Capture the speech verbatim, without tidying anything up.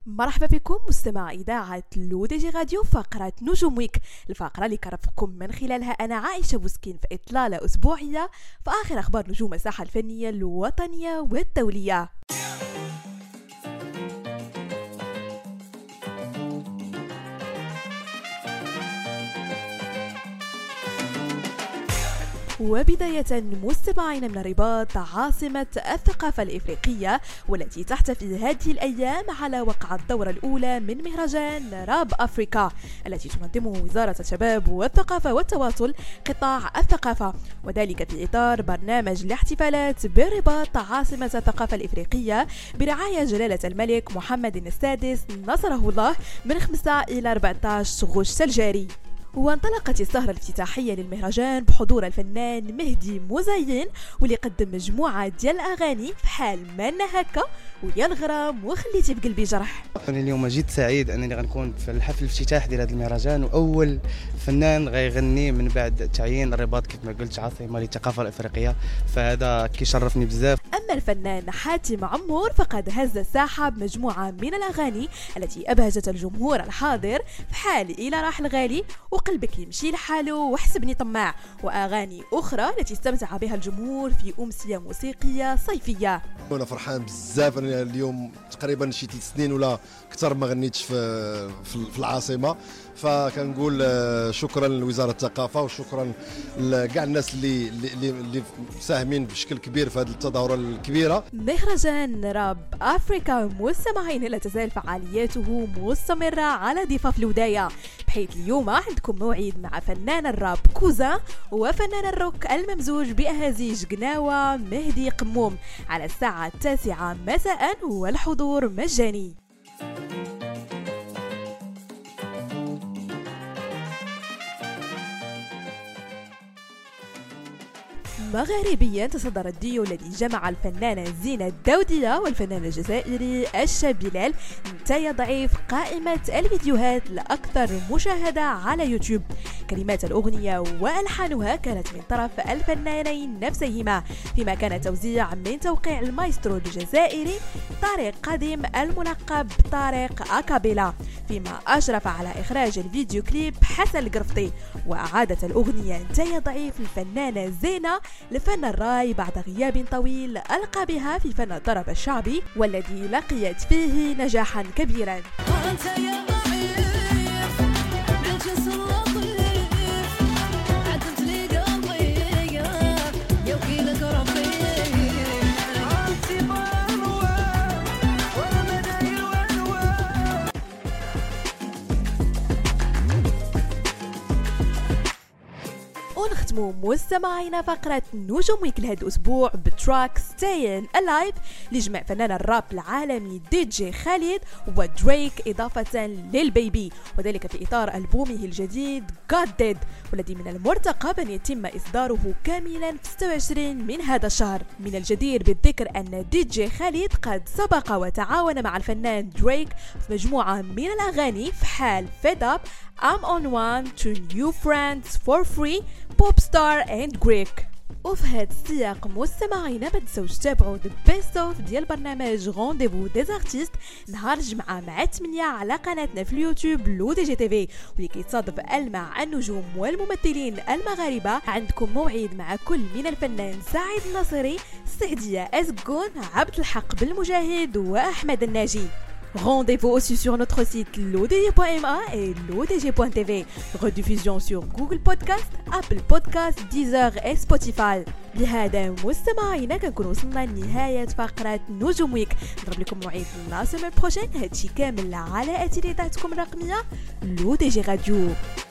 مرحبا بكم مستمع إذاعة لو دي جي راديو فقرة نجوم ويك، الفقرة اللي كرفقكم من خلالها أنا عائشة بوسكين في إطلالة أسبوعية في آخر أخبار نجوم الساحة الفنية الوطنية والدولية. وبداية مستمعين من الرباط، عاصمة الثقافة الإفريقية والتي تحتفي هذه الأيام على وقع الدورة الأولى من مهرجان راب أفريكا التي تنظمه وزارة الشباب والثقافة والتواصل قطاع الثقافة، وذلك في إطار برنامج الاحتفالات بالرباط عاصمة الثقافة الإفريقية برعاية جلالة الملك محمد السادس نصره الله من خمسة إلى أربعة عشر غشت الجاري. وانطلقت السهرة الافتتاحية للمهرجان بحضور الفنان مهدي مزين واللي قدم مجموعة ديال الأغاني في حال ما هكا ويا الغرام وخليتي في قلبي جرح. أنا اليوم جيت سعيد أنني غنكون في الحفل الافتتاح ديال هذا المهرجان، وأول فنان غيغني من بعد تعيين الرباط كيف ما قلت عاصمة للثقافة الإفريقية، فهذا كيشرفني بزاف. أما الفنان حاتم عمور فقد هز الساحة بمجموعة من الأغاني التي أبهجت الجمهور الحاضر في حال إلى راح الغالي وقلبك يمشي لحاله وحسبني طماع، وأغاني أخرى التي استمتع بها الجمهور في أمسية موسيقية صيفية. أنا فرحان بزاف، أنا اليوم تقريبا شي ثلاث سنين ولا أكثر ما غنيتش في في العاصمة، فكنقول شكرا لوزارة الثقافة وشكرا لكاع الناس اللي اللي اللي مساهمين بشكل كبير في هذه التظاهرة الكبيرة. مهرجان راب أفريكا مستمعين لا تزال فعالياته مستمرة على ضفاف الوداية، بحيث اليوم عندكم موعد مع فنان الراب كوزا وفنان الروك الممزوج بأهازيج قناوة مهدي قموم على الساعة التاسعة مساء والحضور مجاني. مغاربيا تصدر الديو الذي جمع الفنانة زينة الدودية والفنان الجزائري الشاب بلال نتايا ضعيف قائمة الفيديوهات الأكثر مشاهدة على يوتيوب. كلمات الأغنية وألحانها كانت من طرف الفنانين نفسيهما، فيما كان توزيع من توقيع المايسترو الجزائري طارق قديم الملقب طارق أكابيلا، فيما أشرف على إخراج الفيديو كليب حسن القرفطي. وأعادت الأغنية نتايا ضعيف الفنانة زينة لفن الراي بعد غياب طويل ألقى بها في فن الطرب الشعبي والذي لقيت فيه نجاحا كبيرا. ونختموا مستمعينا فقرة نجوم ويك لهذا الأسبوع بتراك ستاين ألايف لجمع فنان الراب العالمي دي جي خالد ودريك إضافة للبيبي، وذلك في إطار ألبومه الجديد God Dead والذي من المرتقب أن يتم إصداره كاملا في ستة وعشرين من هذا الشهر. من الجدير بالذكر أن دي جي خالد قد سبق وتعاون مع الفنان دريك في مجموعة من الأغاني في حال Fed Up, I'm on one, to new friends for free, Popstar and Greek. وفي هذا السياق مستمعينا ما تنسوش تتابعوا ذا بيست اوف ديال برنامج رونديفو دي زارتيست نهار الجمعة مع ثمانية على قناتنا في اليوتيوب لو دي جي تي في، واللي كيتصادف ألمع النجوم والممثلين المغاربة. عندكم موعد مع كل من الفنان سعيد الناصري، السعدية أزقون، عبد الحق بالمجاهد وأحمد الناجي. Rendez-vous aussi sur notre site lodg point m a et lodg point t v. Rediffusion sur Google Podcast, Apple Podcast, Deezer et Spotify. بهذا مستمعينا كنكون وصلنا لنهاية فقرة نجوم ويك. نضرب لكم موعد لا سيمين بروشين، هادشي كامل على أتيليتاتكم الرقمية لو دي جي راديو.